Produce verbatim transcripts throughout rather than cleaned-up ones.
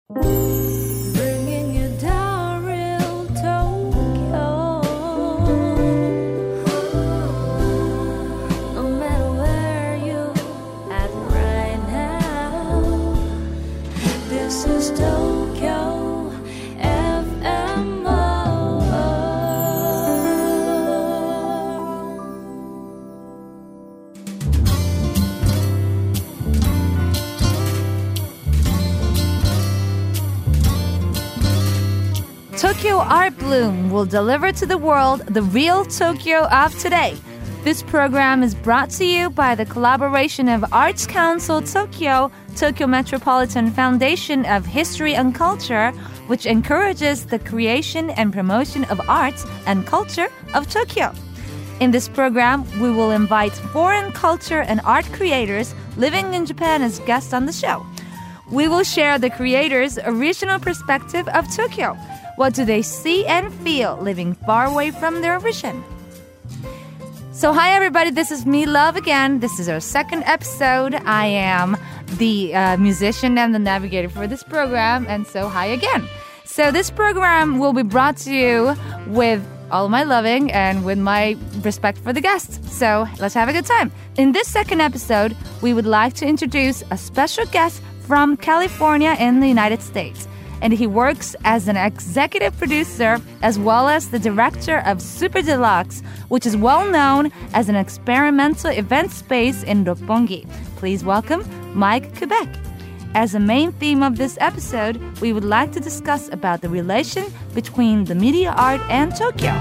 Bringing you down real Tokyo. No matter where you at right now, this is Tokyo F M. Tokyo Art Bloom will deliver to the world the real Tokyo of today. This program is brought to you by the collaboration of Arts Council Tokyo, Tokyo Metropolitan Foundation of History and Culture, which encourages the creation and promotion of arts and culture of Tokyo. In this program, we will invite foreign culture and art creators living in Japan as guests on the show. We will share the creators' original perspective of Tokyo. What do they see and feel living far away from their origin? So hi everybody, this is me, Love, again. This is our second episode. I am the uh, musician and the navigator for this program, and so hi again. So this program will be brought to you with all my loving and with my respect for the guests. So let's have a good time. In this second episode, we would like to introduce a special guest from California in the United States. And he works as an executive producer as well as the director of Super Deluxe, which is well known as an experimental event space in Roppongi. Please welcome Mike Quebec. As a main theme of this episode, we would like to discuss about the relation between the media art and Tokyo.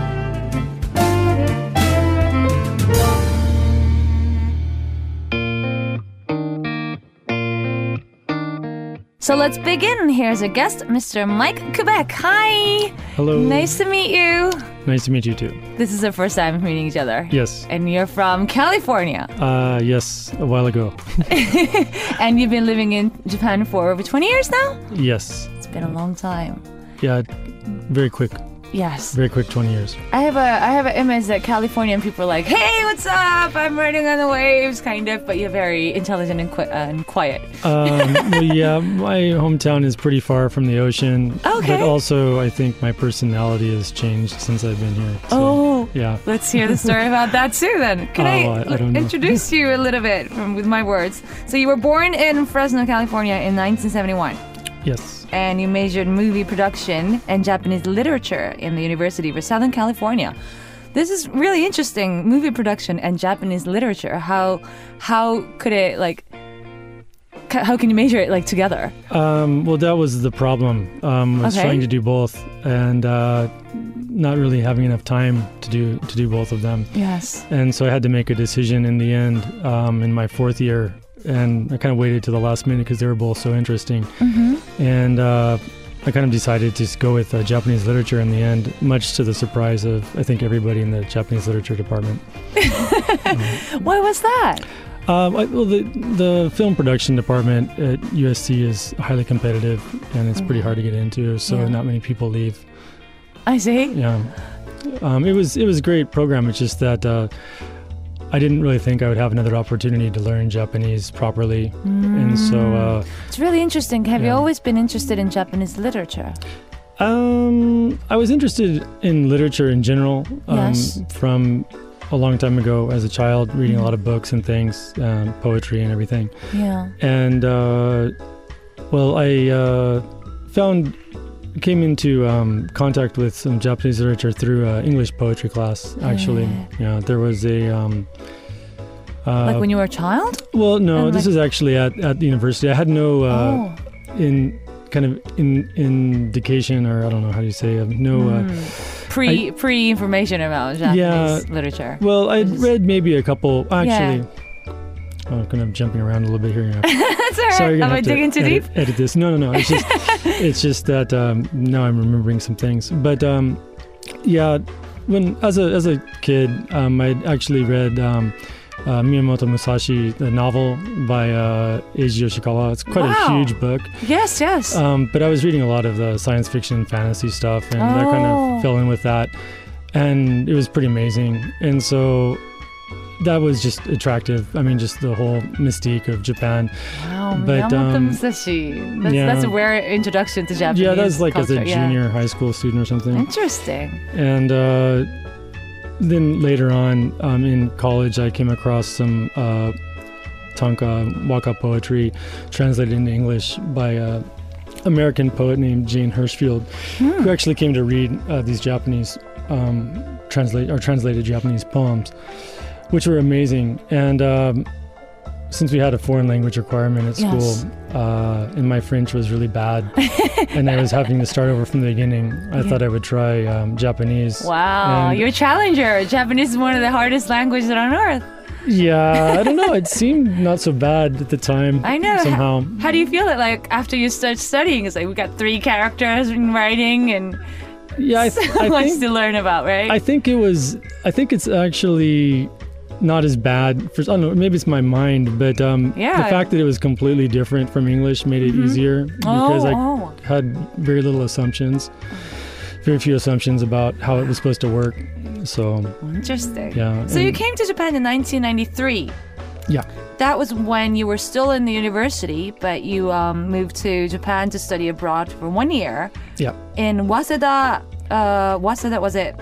So let's begin. Here's our guest, Mister Mike Quebec. Hi. Hello. Nice to meet you. Nice to meet you too. This is our first time meeting each other. Yes. And you're from California. Uh, yes, a while ago. And you've been living in Japan for over twenty years now? Yes. It's been a long time. Yeah, very quick. Yes. Very quick twenty years. I have a I have an image that Californian people are like, hey, what's up? I'm riding on the waves, kind of. But you're very intelligent and, qui- uh, and quiet. Um, well, yeah, my hometown is pretty far from the ocean. Okay. But also, I think my personality has changed since I've been here. So, Oh. yeah. Let's hear the story about that too then. Can Oh, I, I- I don't know. introduce you a little bit from, with my words? So you were born in Fresno, California in nineteen seventy-one. Yes. And you majored in movie production and Japanese literature in the University of Southern California. This is really interesting, movie production and Japanese literature. How how could it, like, ca- how can you measure it, like, together? Um, well, that was the problem. Um, was Okay. trying to do both and uh, not really having enough time to do to do both of them. Yes. And so I had to make a decision in the end um, in my fourth year. And I kind of waited to the last minute because they were both so interesting. Mm-hmm. And uh, I kind of decided to just go with uh, Japanese literature in the end, much to the surprise of, I think, everybody in the Japanese literature department. um, Why was that? uh, I, well, the, the film production department at U S C is highly competitive, and it's pretty hard to get into, so Yeah. not many people leave. I see. Yeah, um, it was it was a great program. It's just that uh, I didn't really think I would have another opportunity to learn Japanese properly, and so uh, It's really interesting. Have you Yeah. always been interested in Japanese literature? um, I was interested in literature in general um, Yes. from a long time ago as a child, reading a lot of books and things, um, poetry and everything. Yeah. And uh, well, I uh, found came into um, contact with some Japanese literature through uh, English poetry class. Actually, yeah, there was a. Um, uh, Like when you were a child? well, no, and this like- is actually at, at the university. I had no uh, oh. in kind of in indication, or I don't know how do you say, uh, no. Uh, Mm. Pre pre information about Japanese Yeah. literature. well, I'd Just- read maybe a couple. Actually, I'm kind of jumping around a little bit here. You know. That's all right. Sorry, you're Am gonna I have to digging too edit, deep? edit this. No, no, no. It's just, it's just that um, now I'm remembering some things. But um, yeah, when as a as a kid, um, I'd actually read um, uh, Miyamoto Musashi, the novel by uh, Eiji Yoshikawa. It's quite Wow. a huge book. Yes, yes. Um, but I was reading a lot of the science fiction, fantasy stuff, and I kind Oh. of fell in with that, and it was pretty amazing. And so that was just attractive. I mean, just the whole mystique of Japan. Wow, But, Miyamoto um, Musashi. That's, yeah. that's a rare introduction to Japanese Yeah, that was like culture. as a yeah. junior high school student or something. Interesting. And uh, then later on um, in college, I came across some uh, tanka waka poetry translated into English by a American poet named Jane Hirschfield, Hmm. who actually came to read uh, these Japanese um, translate or translated Japanese poems, which were amazing. And um, since we had a foreign language requirement at Yes. school, uh, and my French was really bad, and I was having to start over from the beginning, I Yeah. thought I would try um, Japanese. Wow, And- you're a challenger. Japanese is one of the hardest languages on earth. Yeah, I don't know. It seemed not so bad at the time. I know. Somehow. How do you feel it like after you start studying? It's like we got three characters in writing and Yeah, I, so th- I much think to learn about, right? I think it was. I think it's actually not as bad. For I don't know. Maybe it's my mind, but um, Yeah. the fact that it was completely different from English made it Mhm. easier because oh, I oh. had very little assumptions, very few assumptions about how it was supposed to work. So Interesting. yeah. So you and- came to Japan in nineteen ninety-three. Yeah. That was when you were still in the university, but you um, moved to Japan to study abroad for one year Yeah. in Waseda. Uh, Waseda, was it?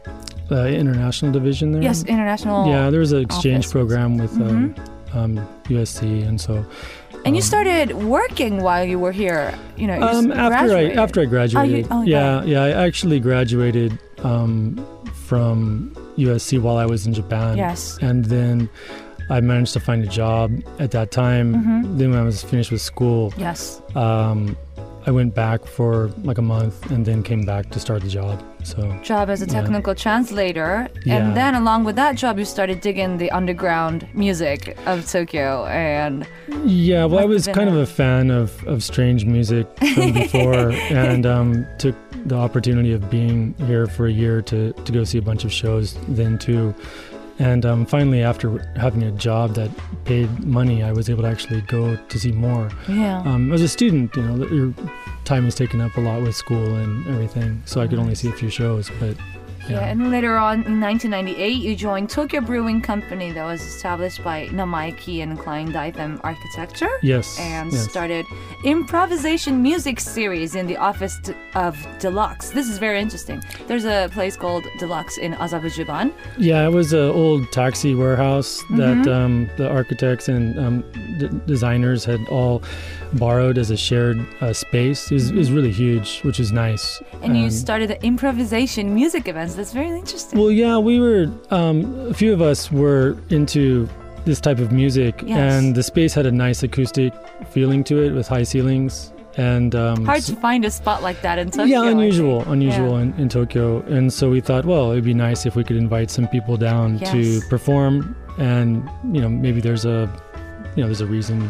The international division there. Yes, international. Yeah, there was an exchange office. program with um, Mhm. um, U S C, and so. And you um, started working while you were here. You know, you Um, s- after I graduated. after I graduated, oh, you yeah, got yeah, I actually graduated um, from U S C while I was in Japan. Yes. and then I managed to find a job at that time. Mhm. Then when I was finished with school, Yes. um, I went back for like a month and then came back to start the job. So Job as a Yeah. technical translator. Yeah. And then along with that job, you started digging the underground music of Tokyo. And yeah, well, I Must was have been kind a- of a fan of, of strange music from before, and um, took the opportunity of being here for a year to, to go see a bunch of shows then too. And um, finally, after having a job that paid money, I was able to actually go to see more. yeah. Um, as a student, you know, your time is taken up a lot with school and everything, so I could only see a few shows. But Yeah, and later on in nineteen ninety-eight, you joined Tokyo Brewing Company that was established by Namaiki and Klein Daitham Architecture. yes, And yes. started improvisation music series in the office d- of Deluxe. This is very interesting. There's a place called Deluxe in Azabujuban. Yeah, it was an old taxi warehouse that Mhm. um, the architects and um, d- designers had all borrowed as a shared uh, space. It was, it was really huge, which is nice. And you Um, started the improvisation music events. That's very interesting. Well, yeah, we were, um, a few of us were into this type of music, Yes. and the space had a nice acoustic feeling to it with high ceilings. And um, Hard s- to find a spot like that in Tokyo. yeah, I unusual, think. unusual Yeah. in, in Tokyo. And so we thought, well, it'd be nice if we could invite some people down Yes. to perform, and you know, maybe there's a, you know, there's a reason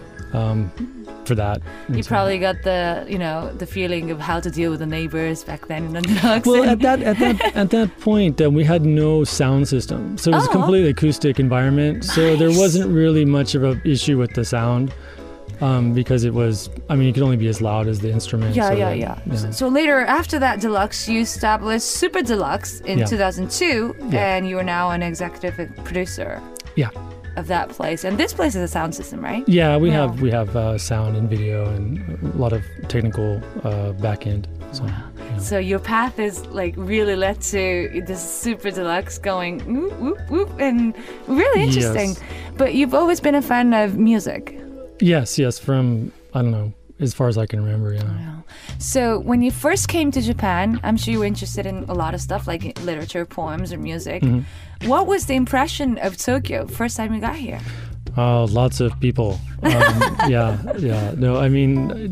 um, for that. And You so- probably got the, you know, the feeling of how to deal with the neighbors back then in the Deluxe. Well, and- at that at that at that point, uh, we had no sound system, so it was Oh. a completely acoustic environment. So there Nice. wasn't really much of an issue with the sound, um, because it was. I mean, you could only be as loud as the instrument. Yeah, so yeah, that- yeah. So, so later, after that Deluxe, you established Super Deluxe in Yeah. two thousand two, Yeah. and you are now an executive producer. Yeah. Of that place, and this place is a sound system, right? Yeah, we Yeah. have we have uh, sound and video and a lot of technical uh, back end. So, yeah. So your path is like really led to this Super Deluxe going whoop whoop whoop, and really interesting. Yes. But you've always been a fan of music. Yes, yes. From I don't know, as far as I can remember. Yeah. Wow. So when you first came to Japan, I'm sure you were interested in a lot of stuff like literature, poems, or music. Mhm. What was the impression of Tokyo first time you got here? Oh, lots of people. Um, yeah, yeah. No, I mean,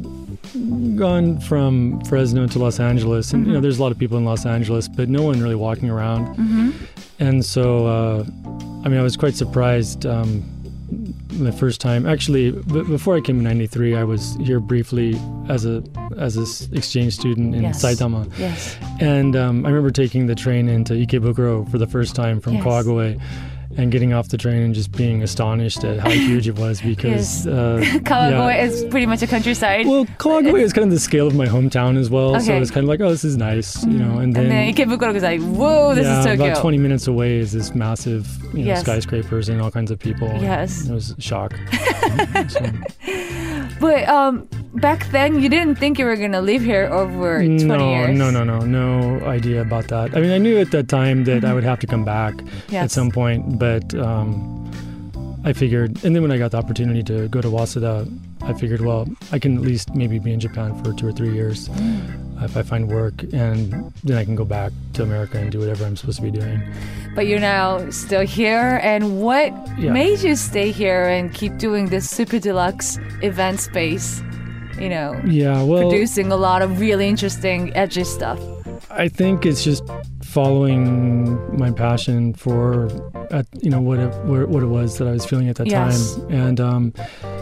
gone from Fresno to Los Angeles, and you know, there's a lot of people in Los Angeles, but no one really walking around. Mm-hmm. And so, uh, I mean, I was quite surprised um, the first time. Actually, b- before I came in ninety-three, I was here briefly as a as an exchange student in Yes. Saitama. Yes. And um, I remember taking the train into Ikebukuro for the first time from Yes. Kawagoe. and getting off the train and just being astonished at how huge it was because Yes. uh, Kawagoe yeah. is pretty much a countryside. Well, Kawagoe is kind of the scale of my hometown as well, so Okay. it's kind of like, oh, this is nice, you know. And then, and then Ikebukuro is like, whoa, this yeah, is Tokyo. about twenty minutes away is this massive, you know, Yes. skyscrapers and all kinds of people. Yes. It was a shock. So, But um, back then, you didn't think you were going to live here over twenty no, years. no, no, no, no idea about that. I mean, I knew at that time that I would have to come back Yes. at some point, but um, I figured, and then when I got the opportunity to go to Waseda, I figured, well, I can at least maybe be in Japan for two or three years Mm. if I find work, and then I can go back to America and do whatever I'm supposed to be doing. But you're now still here. And what Yeah. made you stay here and keep doing this super deluxe event space? You know, Yeah, well, producing a lot of really interesting, edgy stuff. I think it's just following my passion for, uh, you know, what it, what it was that I was feeling at that Yes. time, and um,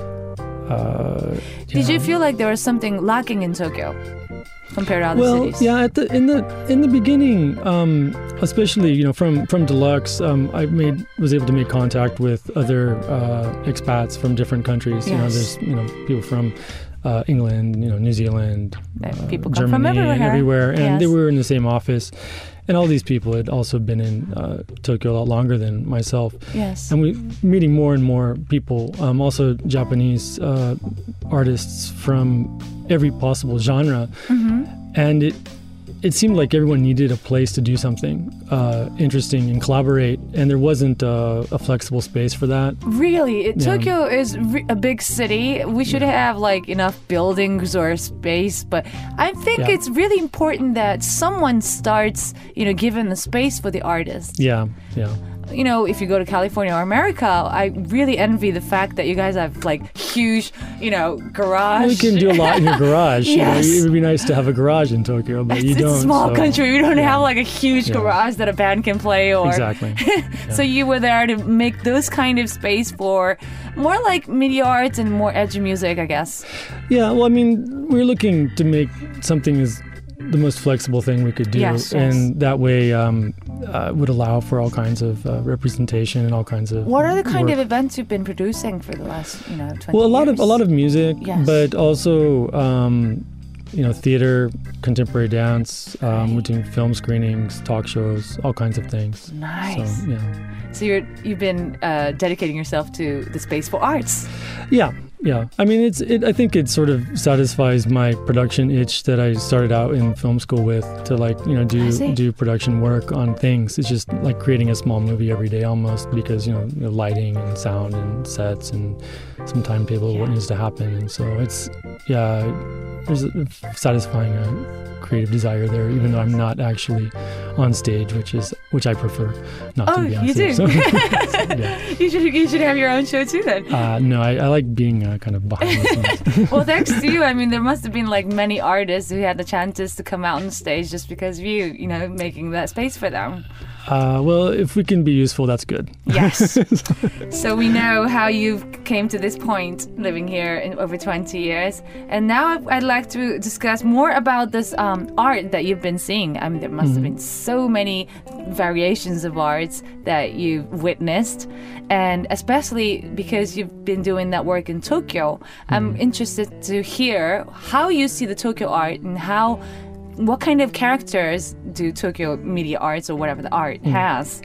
uh, Did yeah. you feel like there was something lacking in Tokyo compared to other well, cities? yeah, at the in the in the beginning, um, especially you know from from Deluxe, um, I made was able to make contact with other uh, expats from different countries. You know, Yes. there's you know people from uh, England, you know, New Zealand, Uh, uh, people come Germany, from and everywhere. everywhere, and they Yes. were in the same office. And all these people had also been in uh, Tokyo a lot longer than myself. Yes. And we meeting more and more people, um, also Japanese uh, artists from every possible genre. hmm And it it seemed like everyone needed a place to do something uh, interesting and collaborate, and there wasn't uh, a flexible space for that. Really, it, Yeah. Tokyo is re- a big city. We should have like enough buildings or space, but I think Yeah. it's really important that someone starts, you know, giving the space for the artist. Yeah, yeah. You know, if you go to California or America, I really envy the fact that you guys have like huge, you know, garage. Well, you can do a lot in your garage. Yes. You know, it would be nice to have a garage in Tokyo, but you it's don't. a small so- country. We don't yeah. have like a huge Yeah. garage that a band can play or Exactly. So you were there to make those kind of space for more like media arts and more edgy music, I guess. Yeah, well, I mean, we're looking to make something as the most flexible thing we could do, Yes, yes. and that way um, uh, would allow for all kinds of uh, representation and all kinds of. What are the kind work. of events you've been producing for the last, you know, twenty Well, a lot years? of a lot of music, Yes. but also um, you know theater, contemporary dance. Um, Right. We're doing film screenings, talk shows, all kinds of things. Nice. So, yeah. So you're you've been uh, dedicating yourself to the space for arts. Yeah, yeah. I mean, it's. It, I think it sort of satisfies my production itch that I started out in film school with to like you know I do see. do production work on things. It's just like creating a small movie every day almost because you know, you know lighting and sound and sets and some timetable of what Yeah. needs to happen. And so it's yeah, there's a satisfying uh, creative desire there, even though I'm not actually on stage, which is which I prefer not Oh, to be on you stage. do? So, yeah. You should you should have your own show too then. Uh, no, I, I like being uh, kind of behind the scenes. Well, thanks to you. I mean, there must have been like many artists who had the chances to come out on stage just because of you, you know, making that space for them. Uh, well, if we can be useful, that's good. Yes. So we know how you came to this point living here in over twenty years. And now I'd like to discuss more about this um, art that you've been seeing. I mean, there must have been so many variations of arts that you've witnessed. And especially because you've been doing that work in Tokyo, I'm interested to hear how you see the Tokyo art and how what kind of characters do Tokyo media arts or whatever the art has?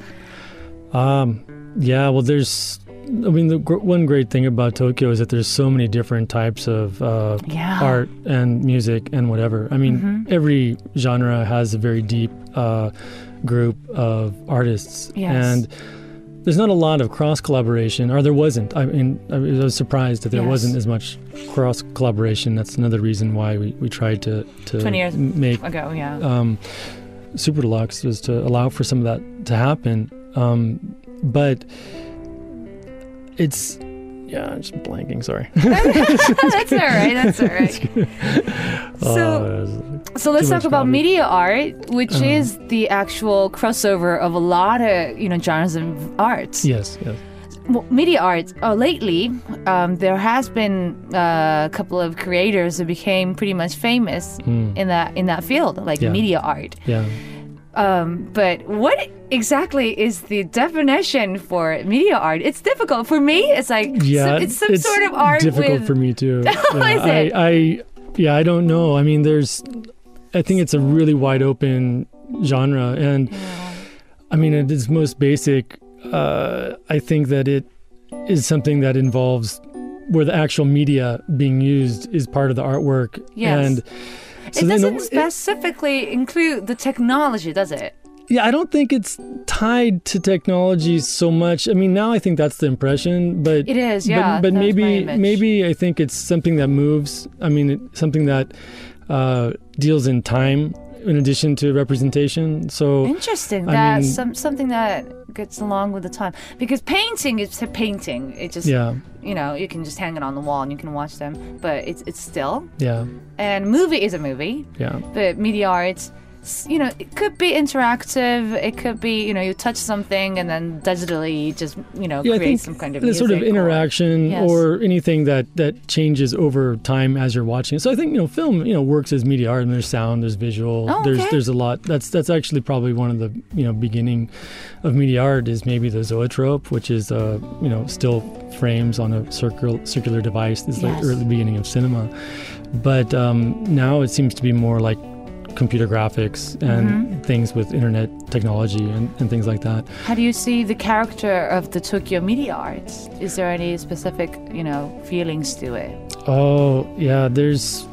Um, yeah, well, there's. I mean, the gr- one great thing about Tokyo is that there's so many different types of uh, Yeah. art and music and whatever. I mean, every genre has a very deep uh, group of artists, Yes. and there's not a lot of cross collaboration, or there wasn't. I mean, I was surprised that there Yes. wasn't as much cross collaboration. That's another reason why we, we tried to to twenty years make ago, yeah. um, Super Deluxe, was to allow for some of that to happen. Um, but it's, yeah, I'm just blanking, sorry. That's all right. That's all right. So, Uh, so let's too talk much about coffee. media art, which Uh-huh. is the actual crossover of a lot of you know genres of arts. yes, yes. Well, media art. Oh, lately, um, there has been uh, a couple of creators who became pretty much famous Mm, in that in that field, like Yeah. media art. yeah. Um, but what exactly is the definition for media art? It's difficult for me. It's like Yeah, some, it's some it's sort of art. difficult with... for me too. Oh, yeah, is it? I, I, yeah, I don't know. I mean, there's, I think it's a really wide open genre, and Yeah. I mean, at its most basic, uh, I think that it is something that involves where the actual media being used is part of the artwork. Yes. And so It then doesn't it- specifically include the technology, does it? Yeah, I don't think it's tied to technology so much. I mean, now I think that's the impression, but It is, yeah. But, but that's my maybe image. maybe I think it's something that moves. I mean, it, something that uh, deals in time in addition to representation. So Interesting. I That's mean- some, something that gets along with the time. Because painting is a painting. It just, yeah, you know, you can just hang it on the wall and you can watch them. But it's it's still. yeah, And movie is a movie. yeah. But media art, s- you know, it could be interactive. It could be, you know, you touch something and then digitally you just, you know, Yeah, I create think some kind of the music. sort of or- interaction Yes. or anything that, that changes over time as you're watching it. So I think, you know, film, you know, works as media art. And there's sound, there's visual, Oh, there's okay. there's a lot. That's that's actually probably one of the, you know, beginning of media art is maybe the zoetrope, which is uh, you know, still frames on a circular circular device. This is like Yes. early beginning of cinema. But um, now it seems to be more like computer graphics and Mm-hmm. things with internet technology and, and things like that. How do you see the character of the Tokyo media art? Is there any specific, you know, feelings to it? Oh, yeah, there's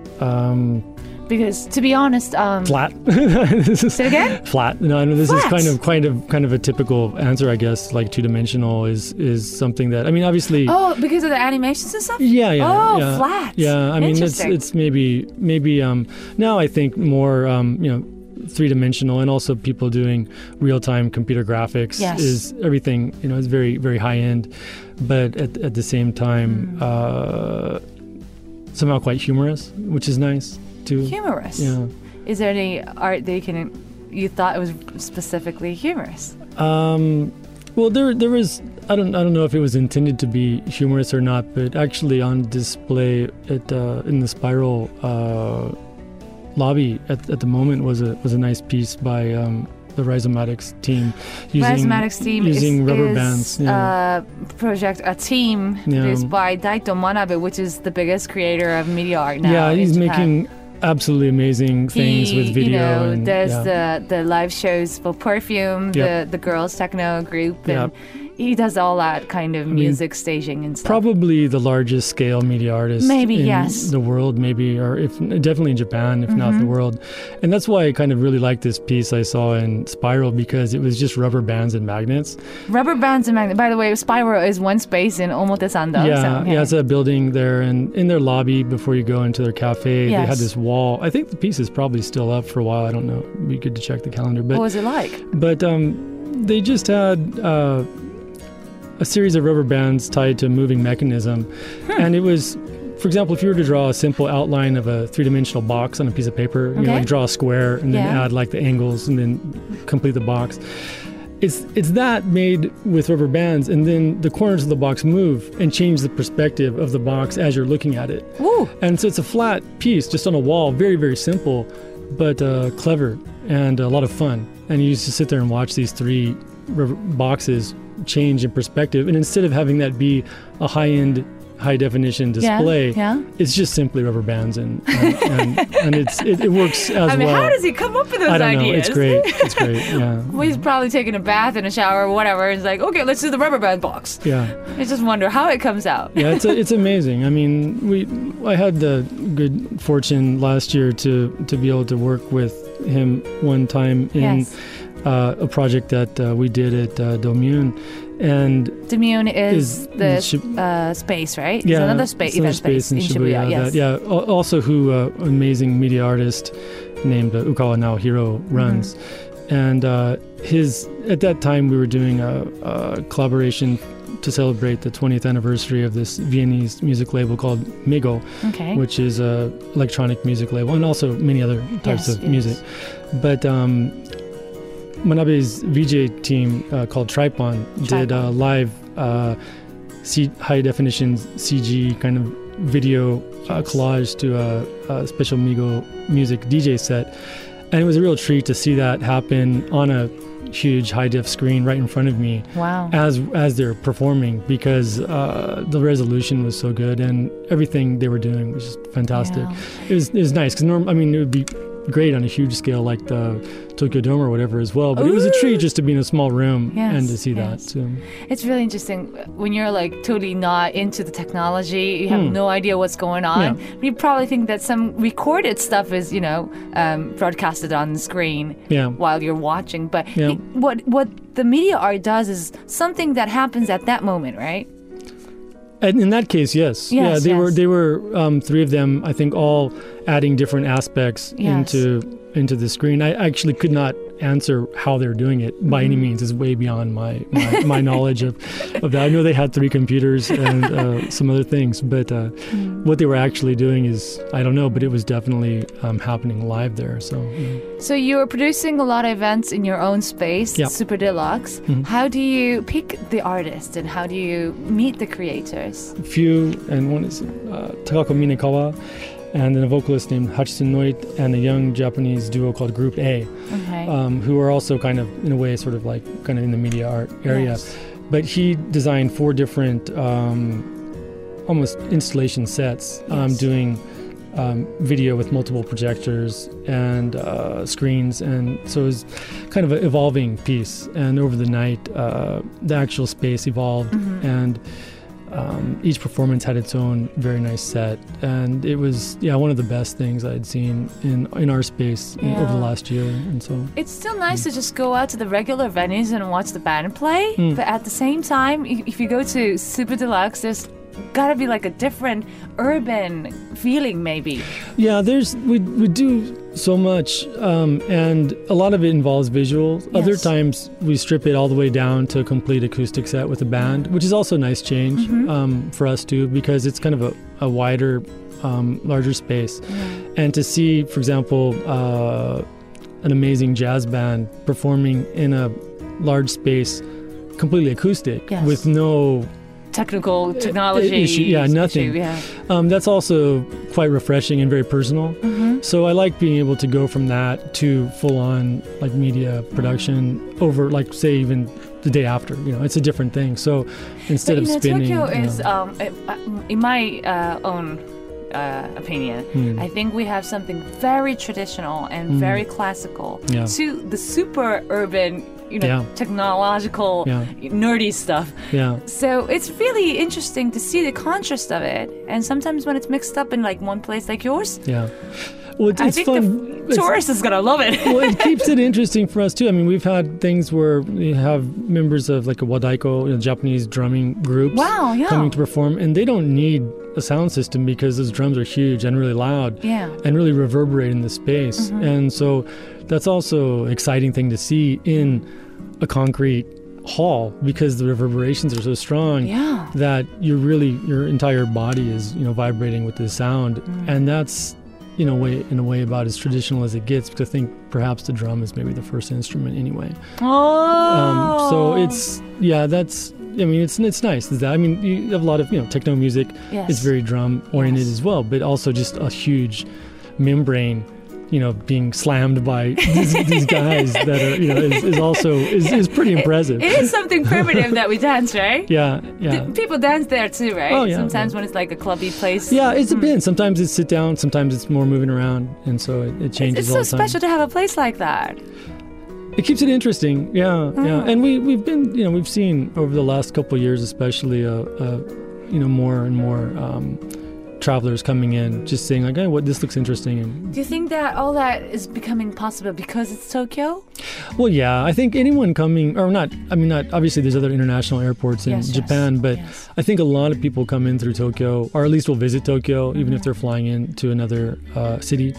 um, Because to be honest, um, flat. This is- say it again? Flat. No, no, this Flat. is kind of kind of kind of a typical answer, I guess. Like two dimensional is is something that I mean, obviously. Oh, because of the animations and stuff? Yeah, yeah. Oh, yeah. flat. Yeah, I mean, it's Interesting. it's maybe maybe um now I think more um you know three dimensional, and also people doing real time computer graphics Yes. is everything, you know, is very very high end, but at at the same time uh somehow quite humorous, which is nice too. Humorous. Yeah. Is there any art that you can, you thought it was specifically humorous? Um, well, there there was I don't I don't know if it was intended to be humorous or not, but actually on display at uh, in the Spiral uh, lobby at, at the moment was a was a nice piece by um, the Rhizomatics team using Rhizomatics team using is, rubber is bands. Yeah. a project, a team Yeah. produced by Daito Manabe, which is the biggest creator of media art now. yeah, in he's Japan. making absolutely amazing things He, with video. You know, and, there's yeah. the the live shows for Perfume, Yep. the the girls techno group, and Yep. he does all that kind of mean, music staging and stuff. Probably the largest scale media artist Maybe, in yes. the world, maybe, or if definitely in Japan, if not the Mm-hmm. world. And that's why I kind of really liked this piece I saw in Spiral, because it was just rubber bands and magnets. Rubber bands and magnet. By the way, Spiral is one space in Omotesando. yeah, so, yeah, it's a building there, and in their lobby before you go into their cafe, they Yes. had this wall. I think the piece is probably still up for a while. I don't know. It'd be good to check the calendar, but what was it like? but um, they just had uh, a series of rubber bands tied to a moving mechanism. Hmm. And it was, for example, if you were to draw a simple outline of a three-dimensional box on a piece of paper, you know, Okay. like draw a square and then Yeah. add like the angles and then complete the box. It's it's that made with rubber bands, and then the corners of the box move and change the perspective of the box as you're looking at it. Woo! And so it's a flat piece just on a wall, very, very simple, but uh, clever and a lot of fun. And you used to sit there and watch these three rubber boxes change in perspective. And instead of having that be a high-end, high-definition display, Yeah. yeah. it's just simply rubber bands, and and, and, and it's it, it works as I mean, well. how does he come up with those I don't ideas? know. It's great. It's great. Yeah. Well, he's probably taking a bath and a shower or whatever. And he's like, okay, let's do the rubber band box. Yeah. I just wonder how it comes out. Yeah, it's a, it's amazing. I mean, we I had the good fortune last year to to be able to work with him one time in Yes. uh, a project that uh, we did at uh, Domune, and Demune is, Is- the is Shib- uh, space, right? yeah, it's another space, it's another event space, in Shibuya. Yes. that- yeah, al- also who uh, amazing media artist named uh, Ukawa Naohiro runs, Mm-hmm. and uh, his at that time we were doing a, a collaboration to celebrate the twentieth anniversary of this Viennese music label called Migo, Okay. which is a electronic music label, and also many other types Yes, of yes. music. But um, Manabe's V J team uh, called Tripon did a live uh, C- high definition C G kind of video uh, Yes. collage to a, a special Migo music D J set. And it was a real treat to see that happen on a huge high def screen right in front of me. Wow. as as they're performing, because uh, the resolution was so good and everything they were doing was just fantastic. Yeah. It was it was nice because norm I mean it would be great on a huge scale like the Tokyo Dome or whatever as well, but Ooh. It was a treat just to be in a small room yes, and to see yes. that too. It's really interesting when you're like totally not into the technology, you have Hmm. no idea what's going on. Yeah. You probably think that some recorded stuff is, you know, um, broadcasted on the screen Yeah. while you're watching, but Yeah. it- what what the media art does is something that happens at that moment, right? And in that case, yes, Yes, yeah, they yes. were they were um, three of them, I think, all adding different aspects Yes. into into the screen. I actually could not answer how they're doing it by any means. It's way beyond my my, my knowledge of, of that. I know they had three computers and uh, some other things, but uh, Mm. what they were actually doing is I don't know. But it was definitely um, happening live there. So yeah. So you're producing a lot of events in your own space, Yeah. Super Deluxe. Mhm. How do you pick the artist and how do you meet the creators? a few, and one is uh, Takako Minekawa, and then a vocalist named Hachisen Noit, and a young Japanese duo called Group A. Okay. Um, who are also kind of, in a way, sort of like kind of in the media art area. Yes. But he designed four different um, almost installation sets, um, Yes. doing um, video with multiple projectors and uh, screens. And so it was kind of an evolving piece. And over the night, uh, the actual space evolved. Mhm. And um, each performance had its own very nice set. And it was, yeah, one of the best things I'd seen in, in our space in- over the Yeah. last year. And so... It's still nice to just go out to the regular venues and watch the band play, Mm. but at the same time, i- if you go to Super Deluxe, there's gotta be like a different urban feeling, maybe. Yeah, there's we we do so much, um, and a lot of it involves visuals. Other Yes. times we strip it all the way down to a complete acoustic set with a band, which is also a nice change Mhm. um, for us too, because it's kind of a, a wider, um, larger space. And to see, for example, uh, an amazing jazz band performing in a large space, completely acoustic, Yes. with no Technical technology issue- yeah, nothing. issue, yeah. Um, that's also quite refreshing and very personal. Mhm. So I like being able to go from that to full-on like media production over, like, say, even the day after. You know, it's a different thing. So instead But, of you know, spinning, Tokyo you know, is, um, uh, in my uh, own uh, opinion, Hmm. I think we have something very traditional and Mm. very classical Yeah. to the super urban, you know, Yeah. technological, Yeah. nerdy stuff. yeah, So it's really interesting to see the contrast of it. And sometimes when it's mixed up in like one place like yours, yeah. Well, it's, I it's think fun. the It's- tourist is gonna love it. well, it keeps it interesting for us too. I mean, we've had things where we have members of like a wadaiko, you know, Japanese drumming groups, Wow, yeah. coming to perform, and they don't need a sound system because those drums are huge and really loud. Yeah. And really reverberate in the space. Mhm. And so that's also an exciting thing to see in a concrete hall, because the reverberations are so strong Yeah. that you're really, your entire body is, you know, vibrating with the sound. Mm. And that's, you know, way, in a way about as traditional as it gets, because I think perhaps the drum is maybe the first instrument anyway. Oh. Um, so it's, yeah, that's, I mean, it's it's nice. Is that, I mean, you have a lot of, you know, techno music. Yes. It's very drum oriented Yes. as well, but also just a huge membrane, you know, being slammed by these, these guys that are, you know, is, is also is, is pretty impressive. It is something primitive that we dance, right? Yeah, yeah. D- People dance there too, right? Oh, yeah, Sometimes yeah. when it's like a clubby place. Yeah, it's a Mm. bit. Sometimes it's sit down, sometimes it's more moving around, and so it, it It's, changes it's all so the time. special to have a place like that. It keeps it interesting. Yeah, yeah. Mm. And we we've been, you know, we've seen over the last couple of years, especially, uh, uh, you know, more and more um, travelers coming in, just saying like, "Hey, what this looks interesting." And Do you think that all that is becoming possible because it's Tokyo? well, yeah, I think anyone coming, or not, I mean, not obviously. There's other international airports in Yes, yes, Japan, but yes. I think a lot of people come in through Tokyo, or at least will visit Tokyo, even Mhm. if they're flying in to another uh, city.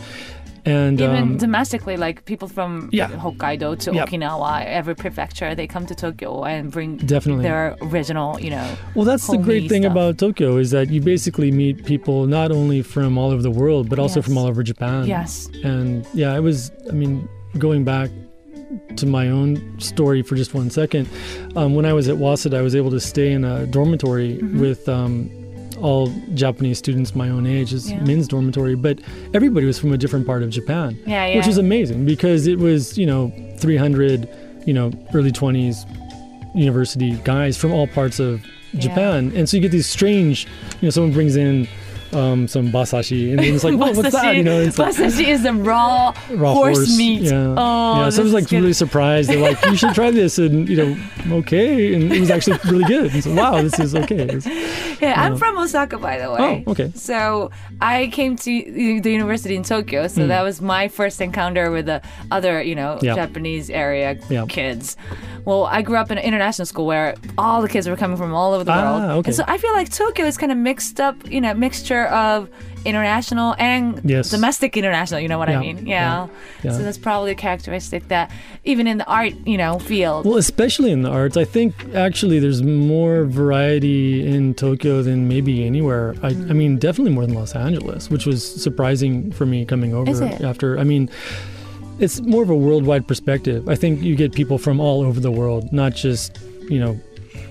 And Even um, domestically, like people from Yeah. Hokkaido to Yep. Okinawa, every prefecture, they come to Tokyo and bring definitely. their original, you know. Well, that's the homey great thing stuff. about Tokyo, is that you basically meet people not only from all over the world, but also Yes. from all over Japan. Yes. And yeah, it was, I mean, going back to my own story for just one second, um, when I was at Waseda, I was able to stay in a dormitory Mhm. with um, all Japanese students my own age. It's Yeah. men's dormitory, but everybody was from a different part of Japan, Yeah, yeah. which was amazing because it was, you know, three hundred, you know, early twenties university guys from all parts of Yeah. Japan. And so you get these strange, you know, someone brings in um, some basashi, and then it's like, whoa, what's that? You know, it's like Basashi is the raw, raw horse, horse meat. Yeah, Oh, yeah. this So I was is like good. really surprised. They're like, you should try this, and you know, okay, and it was actually really good. And so, wow, this is okay. It's- Yeah, I'm Yeah. from Osaka, by the way. Oh, okay. So I came to the university in Tokyo, so that was my first encounter with the other, you know, Hmm. Yeah. Japanese area Yeah. kids. Well, I grew up in an international school where all the kids were coming from all over the Ah, world. okay. And so I feel like Tokyo is kind of mixed up, you know, mixture of international and Yes. domestic international, you know what I Yeah, mean? Yeah. yeah. So that's probably a characteristic that even in the art, you know, field. Well, especially in the arts, I think actually there's more variety in Tokyo than maybe anywhere. I, I mean, definitely more than Los Angeles, which was surprising for me coming over Is it? after. I mean, it's more of a worldwide perspective. I think you get people from all over the world, not just, you know,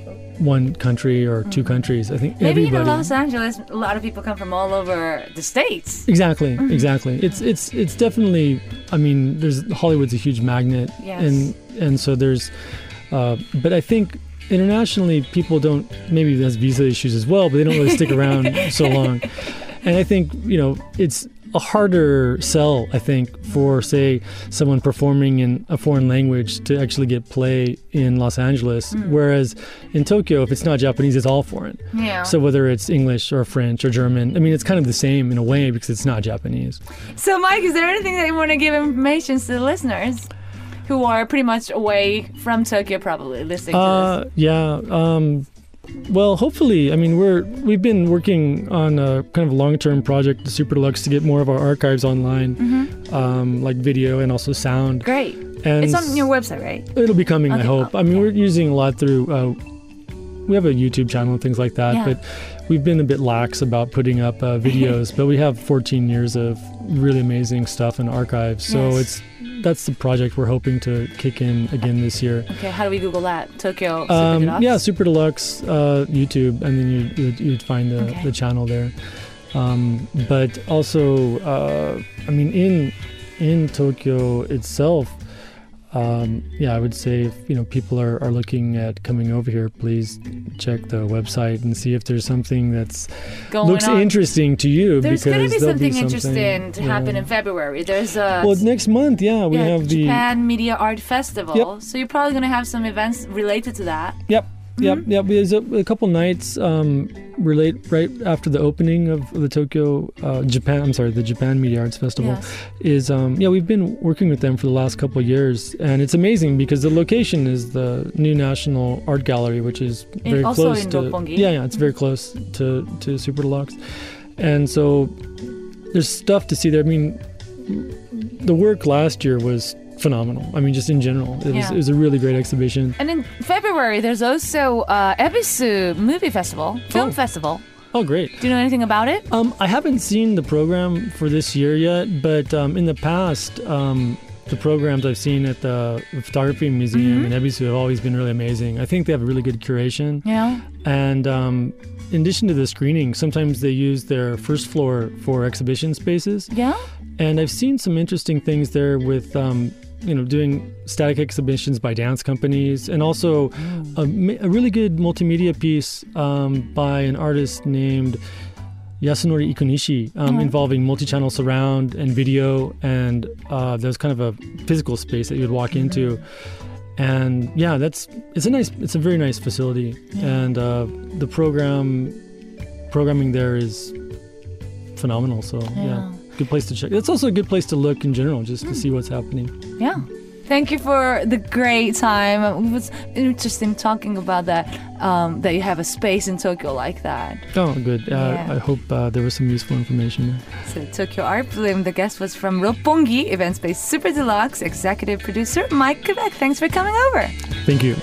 one country or two countries. I think Maybe everybody. in Los Angeles, a lot of people come from all over the states. Exactly, Mm-hmm. exactly. It's it's it's definitely. I mean, there's Hollywood's a huge magnet, Yes. and and so there's. Uh, but I think internationally, people don't. Maybe there's visa issues as well, but they don't really stick around so long. And I think you know it's a harder sell. I think for say someone performing in a foreign language to actually get play in Los Angeles, Mm. whereas in Tokyo, if it's not Japanese, it's all foreign. Yeah. So whether it's English or French or German, I mean, it's kind of the same in a way because it's not Japanese. So, Mike, is there anything that you want to give information to the listeners who are pretty much away from Tokyo, probably listening to Uh, yeah. Um, well, hopefully, I mean, we're we've been working on a kind of long-term project, the Super Deluxe, to get more of our archives online, this? um, like video and also sound. Great. And It's on your website, right? It'll be coming, I Okay. hope. I mean, we're using a lot through. Uh, we have a YouTube channel and things like that, Yeah. but we've been a bit lax about putting up uh, videos. But we have fourteen years of really amazing stuff in archives, so Yes. it's that's the project we're hoping to kick in again this year. Okay, how do we Google that? Tokyo Super Um, Deluxe? yeah, Super Deluxe uh, YouTube, and then you, you'd, you'd find the, Okay. the channel there. Um, but also, uh, I mean, in in Tokyo itself, um, yeah, I would say if you know people are, are looking at coming over here, please check the website and see if there's something that's Going looks on. interesting to you. There's because going to be there'll something, be interesting to happen yeah. in February. There's a Well, next month, yeah, we yeah, have the Japan Media Art Festival. Yep. So you're probably going to have some events related to that. Yep. Yep, Mm-hmm. yep. There's a, a couple nights um, relate right after the opening of the Tokyo uh, Japan. I'm sorry, the Japan Media Arts Festival Yes. is. Um, yeah, we've been working with them for the last couple of years, and it's amazing because the location is the new National Art Gallery, which is In- very also close in to. Roppongi. Yeah, yeah, it's very close to to Super Deluxe, and so there's stuff to see there. I mean, the work last year was phenomenal. I mean, just in general, it was Yeah. it was a really great exhibition. And in February, there's also uh, Ebisu Movie Festival, Film Oh. Festival. Oh, great. Do you know anything about it? Um, I haven't seen the program for this year yet, but um, in the past, um, the programs I've seen at the Photography Museum Mm-hmm. in Ebisu have always been really amazing. I think they have a really good curation. Yeah. And um, in addition to the screening, sometimes they use their first floor for exhibition spaces. Yeah? And I've seen some interesting things there with, um, you know, doing static exhibitions by dance companies, and also a, ma- a really good multimedia piece um, by an artist named Yasunori Ikunishi, um, Mhm. involving multi-channel surround and video, and uh, there's kind of a physical space that you would walk into. And yeah, that's it's a nice, it's a very nice facility, and uh, the program programming there is phenomenal. So yeah. Yeah. Good place to check. It's also a good place to look in general, just to see what's happening. Yeah. Thank you for the great time. It was interesting talking about that, um, that you have a space in Tokyo like that. Oh, good. Uh, Yeah. I hope uh, there was some useful information there. So Tokyo Art Bloom, the guest was from Roppongi, Event Space Super Deluxe, executive producer Mike Quebec. Thanks for coming over. Thank you.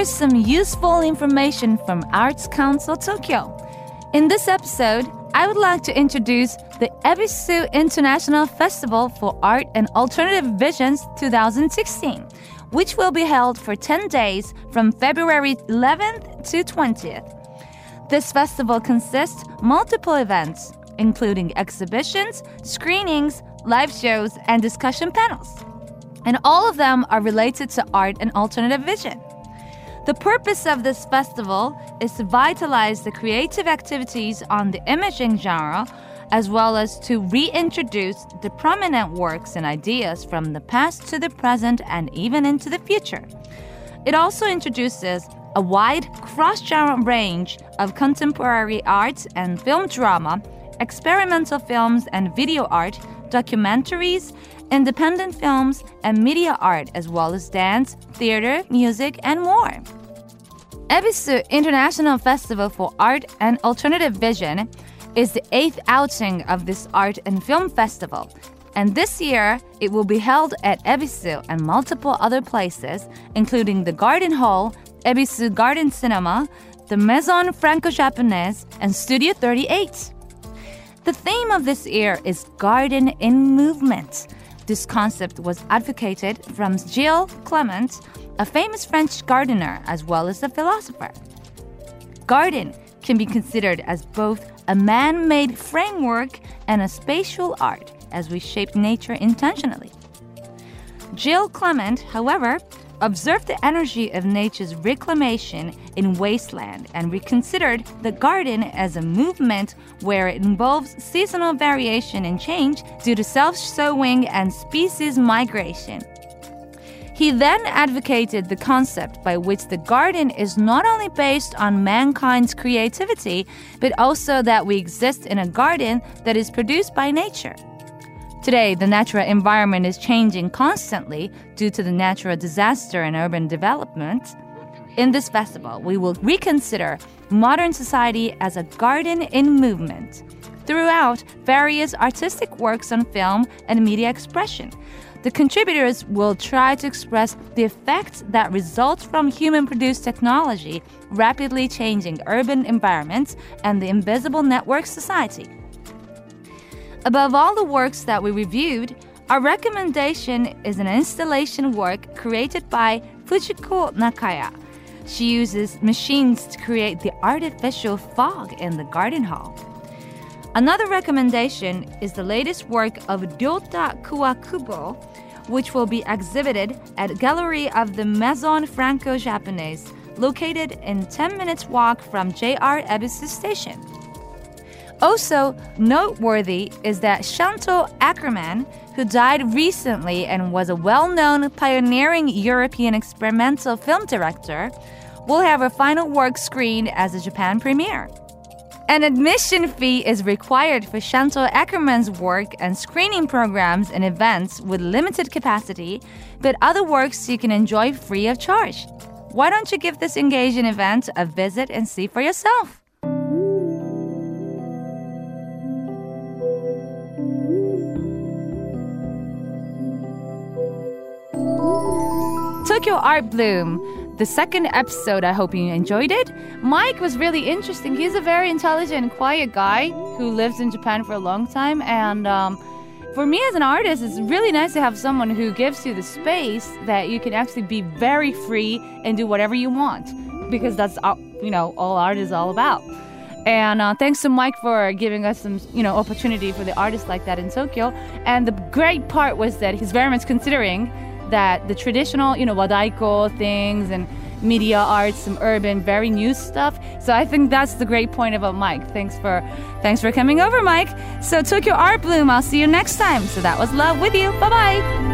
here's some useful information from Arts Council Tokyo. In this episode, I would like to introduce the Ebisu International Festival for Art and Alternative Visions twenty sixteen, which will be held for ten days from February eleventh to twentieth. This festival consists multiple events, including exhibitions, screenings, live shows, and discussion panels. And all of them are related to art and alternative vision. The purpose of this festival is to vitalize the creative activities on the imaging genre, as well as to reintroduce the prominent works and ideas from the past to the present and even into the future. It also introduces a wide cross-genre range of contemporary art and film drama, experimental films and video art, documentaries, independent films, and media art, as well as dance, theater, music, and more. Ebisu International Festival for Art and Alternative Vision is the eighth outing of this art and film festival, and this year it will be held at Ebisu and multiple other places, including the Garden Hall, Ebisu Garden Cinema, the Maison Franco-Japonaise, and Studio thirty-eight. The theme of this year is Garden in Movement. This concept was advocated from Gilles Clement, a famous French gardener as well as a philosopher. Garden can be considered as both a man-made framework and a spatial art, as we shape nature intentionally. Gilles Clement, however, observed the energy of nature's reclamation in wasteland and reconsidered the garden as a movement where it involves seasonal variation and change due to self-sowing and species migration. He then advocated the concept by which the garden is not only based on mankind's creativity, but also that we exist in a garden that is produced by nature. Today, the natural environment is changing constantly due to the natural disaster and urban development. In this festival, we will reconsider modern society as a garden in movement throughout various artistic works on film and media expression. The contributors will try to express the effects that result from human-produced technology rapidly changing urban environments and the invisible network society. Above all the works that we reviewed, our recommendation is an installation work created by Fujiko Nakaya. She uses machines to create the artificial fog in the garden hall. Another recommendation is the latest work of Ryota Kuwakubo, which will be exhibited at Gallery of the Maison Franco-Japonaise, located in ten minutes walk from J R Ebisu Station. Also noteworthy is that Chantal Akerman, who died recently and was a well-known pioneering European experimental film director, will have her final work screened as a Japan premiere. An admission fee is required for Chantal Akerman's work and screening programs and events with limited capacity, but other works you can enjoy free of charge. Why don't you give this engaging event a visit and see for yourself? Tokyo Art Bloom, the second episode. I hope you enjoyed it. Mike was really interesting. He's a very intelligent, quiet guy who lives in Japan for a long time. And um, for me as an artist, it's really nice to have someone who gives you the space that you can actually be very free and do whatever you want, because that's, you know, all art is all about. And uh, thanks to Mike for giving us some, you know, opportunity for the artists like that in Tokyo. And the great part was that he's very much considering that the traditional, you know, wadaiko things and media arts, some urban, very new stuff. So I think that's the great point about Mike. Thanks for, thanks for coming over, Mike. So Tokyo Art Bloom, I'll see you next time. So that was Love with you. Bye-bye.